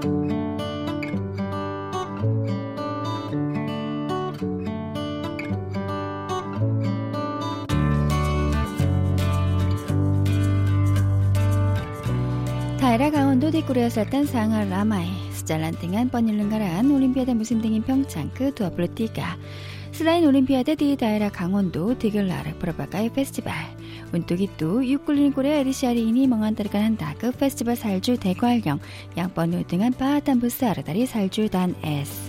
daerah 강원도 뒷구리에 selatan sangat ramai. Sejalan dengan penyelenggaraan Olimpiade musim dingin Pyeongchang ke-23. Selain Olimpiade di daerah Gangwon-do digelar berbagai festival. Untuk itu, Yukulin Korea edisi hari ini mengantarkan Anda ke festival salju Daegwallyeong yang penuh dengan pahatan besar dari salju dan es.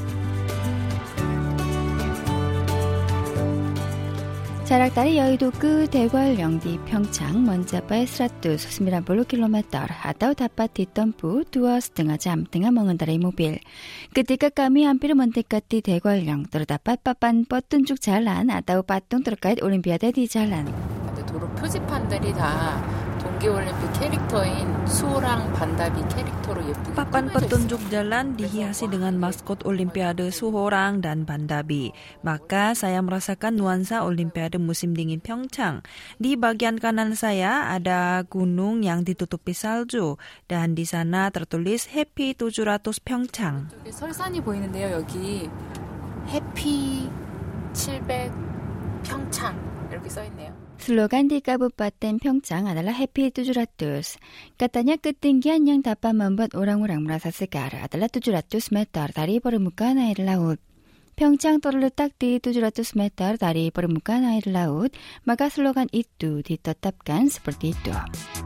Jarak dari 여의도 ke Daegwallyeong di Pyeongchang mencapai 190 km atau dapat ditempuh 2,5 jam dengan mengendarai mobil. Ketika kami hampir mendekati Daegwallyeong, terdapat papan petunjuk jalan atau patung terkait Olimpiade di jalan. 도로 표지판들이 다 동계올림픽 캐릭터인 수호랑 반다비 캐릭터로 예쁘게 papan petunjuk jalan dihiasi dengan maskot Olimpiade Suhorang dan Bandabi. Maka saya merasakan nuansa Olimpiade musim dingin Pyeongchang. Di bagian kanan saya ada gunung yang ditutupi salju dan di sana tertulis Happy 700 Pyeongchang. 설산이 보이는데요. 여기 해피 700 평창 이렇게 써 있네요. Slogan di Kabupaten Pyeongchang adalah Happy 700. Katanya ketinggian yang dapat membuat orang-orang merasa segar adalah 700 meter dari permukaan air laut. Pyeongchang terletak di 700 meter dari permukaan air laut, maka slogan itu ditetapkan seperti itu.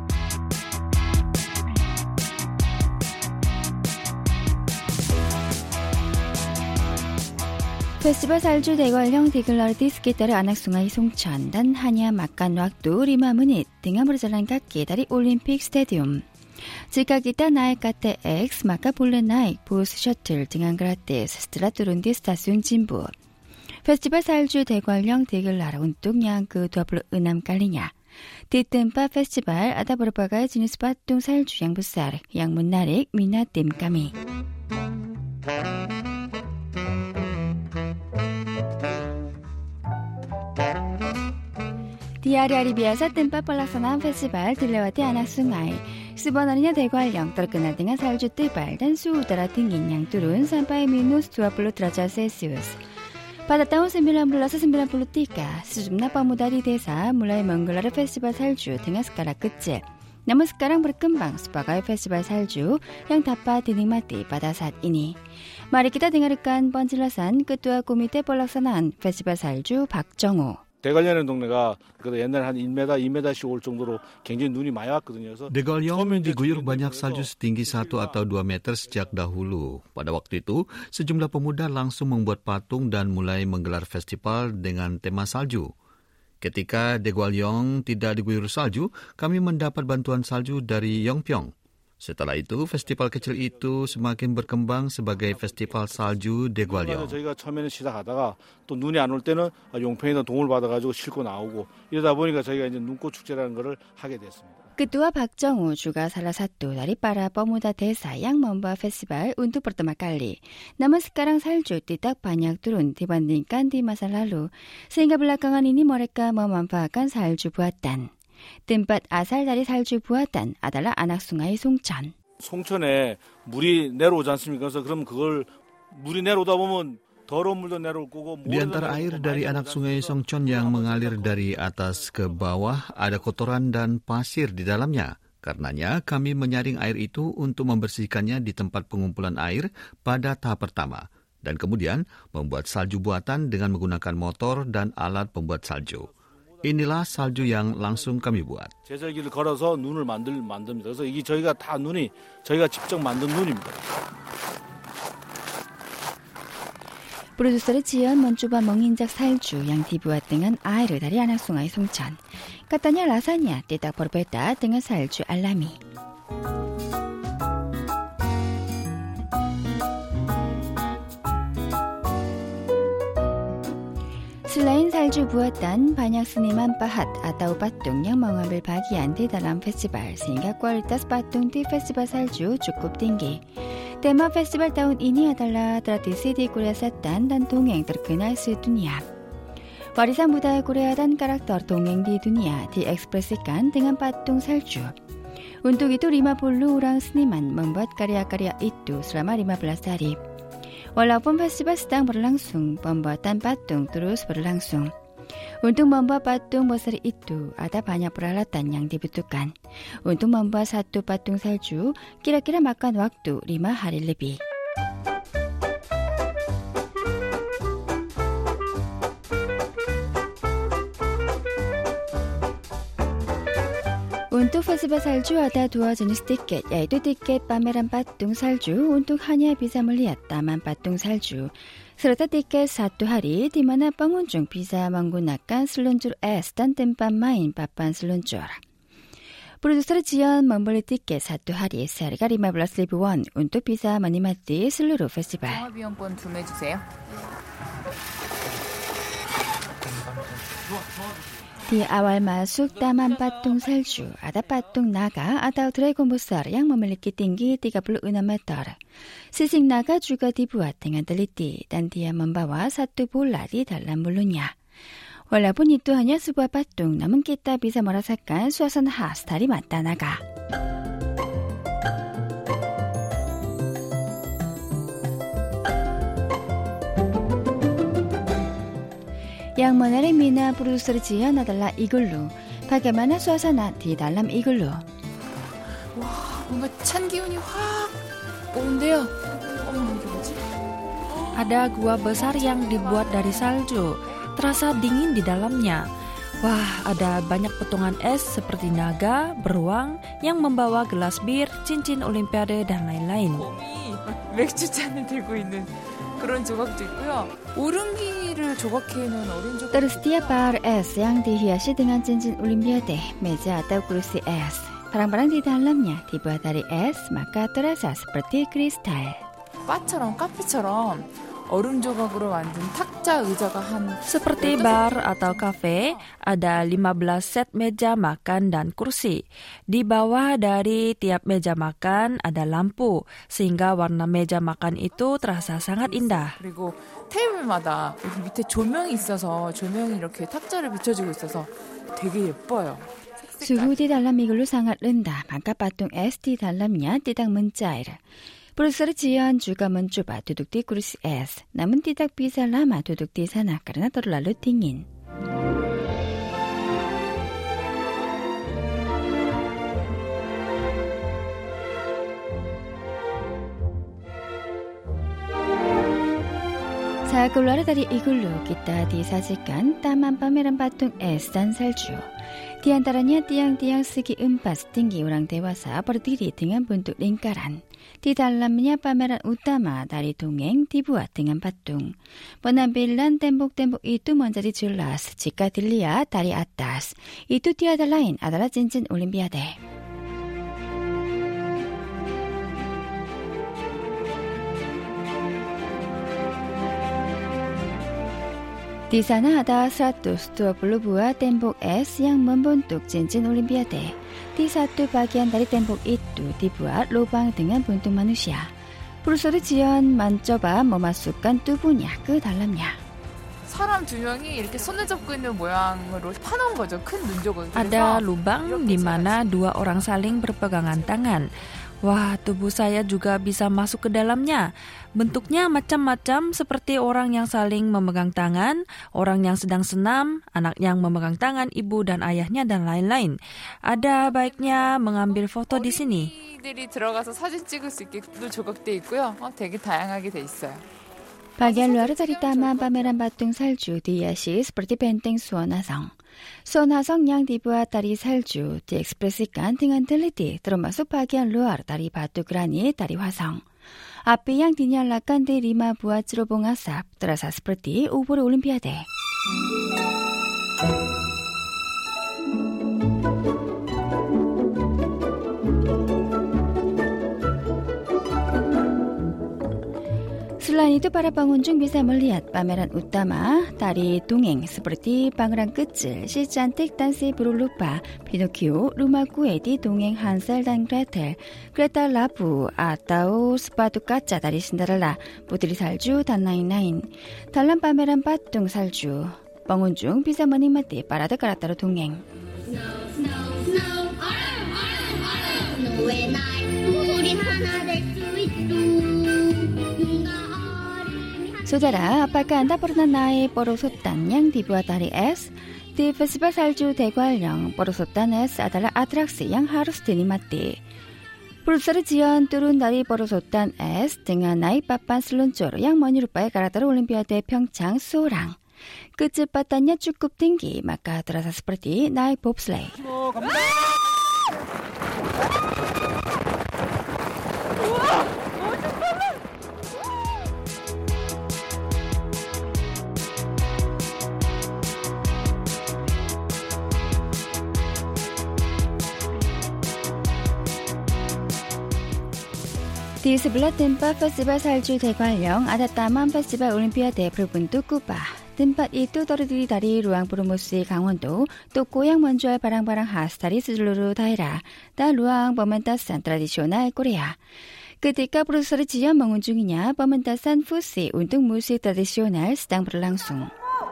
Festival salju Daegwallyeong digelar di sekitar anak sungai Songcheon dan hanya makan waktu 5 menit dengan berjalan kaki dari Olympic Stadium. Jika kita naik KTX, maka boleh naik bus shuttle dengan gratis setelah turun di stasiun Jinbu. Festival salju Daegwallyeong digelar untuk yang ke-26 kalinya. Di tempat festival ada berbagai jenis patung salju yang besar yang menarik minat tim kami. Di hari-hari biasa tempat pelaksanaan festival dilewati anak sungai. Sebenarnya Daegwallyeong terkenal dengan salju tebal dan suhu udara dingin yang turun sampai minus 20 derajat Celcius. Pada tahun 1993, sejumlah pemuda di desa mulai menggelar festival salju dengan skala kecil. Namun sekarang berkembang sebagai festival salju yang dapat dinikmati pada saat ini. Mari kita dengarkan penjelasan Ketua Komite Pelaksanaan Festival Salju 박정호. 대관령이라는 동네가 옛날에 한 1m, 2m씩 올 정도로 굉장히 눈이 많이 왔거든요. Daegwallyeong diguyur banyak salju setinggi 1 atau 2 meter sejak dahulu. Pada waktu itu, sejumlah pemuda langsung membuat patung dan mulai menggelar festival dengan tema salju. Ketika Daegwallyeong tidak diguyur salju, kami mendapat bantuan salju dari Yongpyong. Setelah itu, festival kecil itu semakin berkembang sebagai festival salju Daegwallyeong. 저희가 처음에는 시작하다가 또 눈이 안 올 때는 용평에다 도움을 받아가지고 싣고 나오고 이러다 보니까 저희가 이제 눈꽃 축제라는 거를 하게 됐습니다. Ketua 박정호 juga salah satu dari para pemuda desa yang membawa festival untuk pertama kali. Namun sekarang salju tidak banyak turun dibandingkan di masa lalu, sehingga belakangan ini mereka memanfaatkan salju buatan. Tempat asal dari salju buatan adalah anak sungai Songcheon. 송천에 물이 내려오지 않습니까? 그래서 그럼 그걸 물이 내려오다 보면 더러운 물도 내려올 거고 Di antara air dari anak sungai Songcheon yang mengalir dari atas ke bawah ada kotoran dan pasir di dalamnya. Karenanya kami menyaring air itu untuk membersihkannya di tempat pengumpulan air pada tahap pertama dan kemudian membuat salju buatan dengan menggunakan motor dan alat pembuat salju. Inilah salju yang langsung kami buat. 제설기를 걸어서 눈을 만듭니다. 그래서 이게 저희가 다 눈이 저희가 직접 만든 눈입니다. Produser Jion mencoba menginjak salju yang dibuat dengan air dari anak sungai Songcheon. Katanya rasanya tidak berbeda dengan salju alami. Selain salju buatan, banyak seniman pahat atau patung yang mengambil bagian di dalam festival sehingga kualitas patung di festival salju cukup tinggi. Tema festival tahun ini adalah tradisi di Korea Selatan dan dongeng terkenal sedunia. Warisan budaya Korea dan karakter dongeng di dunia diekspresikan dengan patung salju. Untuk itu 50 orang seniman membuat karya-karya itu selama 15 hari. Walaupun festival sedang berlangsung, pembuatan patung terus berlangsung. Untuk membuat patung besar itu, ada banyak peralatan yang dibutuhkan. Untuk membuat satu patung salju, kira-kira makan waktu 5 hari lebih. Untuk festival salju ada 2 jenis tiket, yaitu tiket pameran patung salju untuk hanya bisa melihat taman patung salju, serta tiket 1 hari di mana pengunjung bisa menggunakan seluncur es dan tempat main papan seluncur. Produser Jion membeli tiket 1 hari seharga 15,000 won untuk bisa menikmati seluruh festival. 종합이용권 구매해 주세요. Di awal masuk Taman Patung Salju, ada patung naga atau dragon besar yang memiliki tinggi 36 meter. Sisik naga juga dibuat dengan teliti dan dia membawa satu bola di dalam mulutnya. Walaupun itu hanya sebuah patung, namun kita bisa merasakan suasana khas dari mata naga. Yang menarik minat produser Jian adalah 이글루. Bagaimana suasana di dalam 이글루? 와, 뭔가 찬 기운이 확 오는데요. 이게 뭐지? Ada gua besar yang dibuat dari salju. Terasa dingin di dalamnya. Wah, ada banyak potongan es seperti naga, beruang yang membawa gelas bir, cincin olimpiade, dan lain-lain. 맥주잔을 들고 있는 그런 조각도 있고요. 오름기를 조각해 놓은 어른 조각. Tersedia bar es yang dihiasi dengan cincin olimpiade, meja atau kursi es. Barang-barang di dalamnya dibuat dari es, maka terasa seperti kristal. 바처럼 카페처럼 얼음 조각으로 만든 탁자 의자가 한 Seperti bar atau kafe, ada 15 set meja makan dan kursi. Di bawah dari tiap meja makan ada lampu, sehingga warna meja makan itu terasa sangat indah. 그리고 테이블마다 여기 밑에 조명이 있어서 조명이 이렇게 탁자를 비춰주고 있어서 되게 예뻐요. Suhu di dalam 이글루 sangat rendah, maka patung es di dalamnya tidak mencair. Produser Jian juga mencoba duduk di kursi es, namun tidak bisa lama duduk di sana karena terlalu dingin. Saat keluar dari igloo, kita disajikan taman pameran patung es dan salju. Di antaranya tiang-tiang segi 4 setinggi orang dewasa berdiri dengan bentuk lingkaran. Di dalamnya pameran utama dari dongeng dibuat dengan patung. Penampilan tembok-tembok itu menjadi jelas jika dilihat dari atas. Itu tiada lain adalah cincin olimpiade. Di sana ada 120 buah tembok es yang membentuk cincin olimpiade. Di satu bagian dari tembok itu dibuat lubang dengan bentuk manusia. Produser Jion mencoba memasukkan tubuhnya ke dalamnya. 사람 2명이 이렇게 손을 잡고 있는 모양으로 파놓은 거죠. 큰 눈조각. Ada lubang di mana 2 orang saling berpegangan tangan. Wah, tubuh saya juga bisa masuk ke dalamnya. Bentuknya macam-macam seperti orang yang saling memegang tangan, orang yang sedang senam, anak yang memegang tangan ibu dan ayahnya, dan lain-lain. Ada baiknya mengambil foto di sini. 어린이들이 들어가서 사진 찍을 수 있게 조각돼 있고요. 되게 dayanga게 돼 있어요. Bagian luar dari taman pameran patung salju dihiasi seperti benteng Suwon-Hasong. Suwon-Hasong yang dibuat dari salju diekspresikan dengan teliti, termasuk bagian luar dari batu granit dari Hwasong. Api yang dinyalakan di 5 buah cerobong asap terasa seperti obor olimpiade. Selain itu, para pengunjung bisa melihat pameran utama dari dongeng seperti Pangeran Kecil, Si Cantik dan Si Buruk Rupa, Pinocchio, Rumah Kue di dongeng Hansel dan Gretel, Kereta Labu atau sepatu kaca dari Cinderella, Putri Salju, dan lain-lain. Dalam pameran patung salju, pengunjung bisa menikmati parade karakter dongeng. Saudara, apakah Anda pernah naik porosotan yang dibuat dari es? Di Festival Salju Daegwallyeong, porosotan es adalah atraksi yang harus dinikmati. Produser Jiyeon turun dari porosotan es dengan naik papan seluncur yang menyerupai karakter Olimpiade Pyeongchang Soarang. Kecepatannya cukup tinggi, maka terasa seperti naik bobsleigh. Di sebelah tempat Festival Salju Daegwallyeong ada Taman Festival Olimpiade berbentuk kubah. Tempat itu terdiri dari ruang promosi Gangwon-do, toko yang menjual barang-barang khas dari seluruh daerah, dan ruang pementasan tradisional Korea. Ketika produser Jiyeon mengunjunginya, pementasan fusi untuk musik tradisional sedang berlangsung.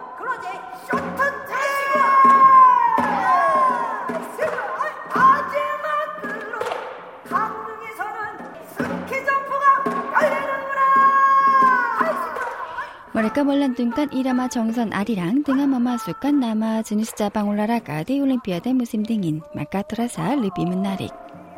Mereka melantunkan irama 정선 아리랑 dengan memasukkan nama jenis cabang olahraga di Olimpiade musim dingin, maka terasa lebih menarik.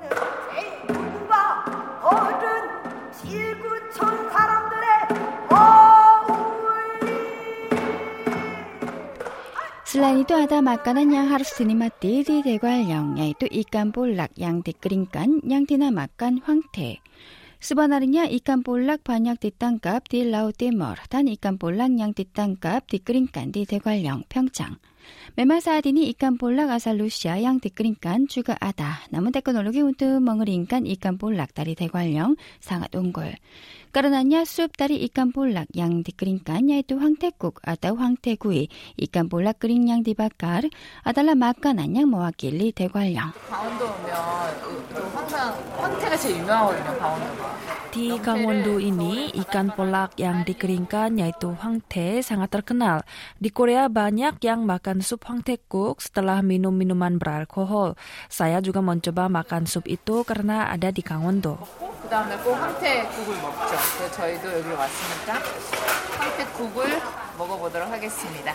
Selain itu ada makanan yang harus dinikmati di Daegwallyeong, yaitu ikan 볼락 yang dikeringkan yang dinamakan 황태. Sebenarnya ikan 볼락 banyak ditangkap di Laut Timur dan ikan 볼락 yang ditangkap dikeringkan di Daegwallyeong, Pyeongchang. Memang saat ini ikan 볼락 asal Rusia yang dikeringkan juga ada, namun teknologi untuk mengeringkan ikan 볼락 dari Daegwallyeong sangat unggul. Karenanya sup dari ikan 볼락 yang dikeringkan yaitu 황태국 atau 황태구이, ikan 볼락 kering yang dibakar adalah makanan yang mewakili Daegwallyeong. 강원도 오면 항상 황태가 제일 유명하거든요, 강원도가. Di Gangwon-do ini, ikan 볼락 yang dikeringkan yaitu 황태 sangat terkenal. Di Korea banyak yang makan sup 황태국 setelah minum minuman beralkohol. Saya juga mencoba makan sup itu karena ada di Gangwon-do. 그다음에 꼭 황태국을 먹죠. 그래서 저희도 여기 왔으니까 황태국을 먹어보도록 하겠습니다.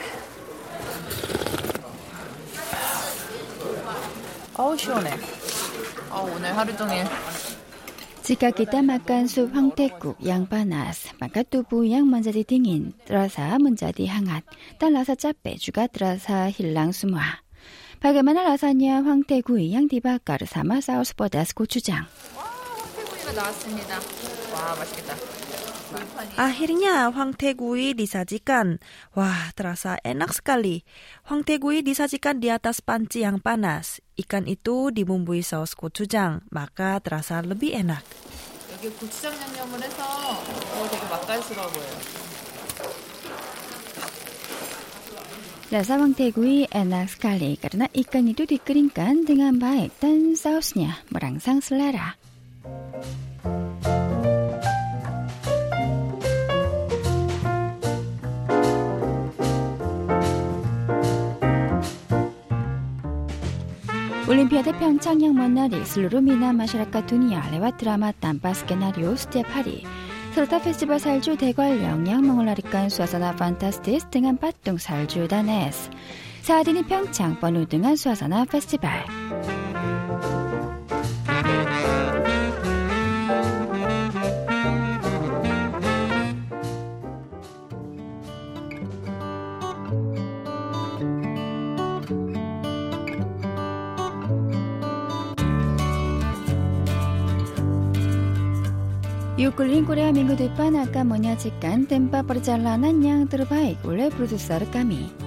어우 시원해. 오늘 하루 종일. Jika kita makan sup 황태국 yang panas, maka tubuh yang menjadi dingin terasa menjadi hangat dan rasa capek juga terasa hilang semua. Bagaimana rasanya 황태구이 yang dibakar sama saus pedas gochujang? 황태구이가 나왔습니다. 와 맛있겠다. Akhirnya 황태구이 disajikan. Wah, terasa enak sekali. 황태구이 disajikan di atas panci yang panas. Ikan itu dibumbui saus gochujang, maka terasa lebih enak. 여기 고추장 양념을 해서 되게 맛깔스러워 보여요. Rasa 황태구이 enak sekali karena ikan itu dikeringkan dengan baik dan sausnya merangsang selera. Olimpiade Pyeongchang yang menarik seluruh minat masyarakat dunia lewat drama tanpa skenario setiap hari, serta Festival Salju Daegwallyeong yang mengeluarkan suasana fantastis dengan patung salju dan es. Saat ini Pyeongchang penuh dengan suasana festival. Yukulin Korea minggu depan akan menyajikan tempat perjalanan yang terbaik oleh produser kami.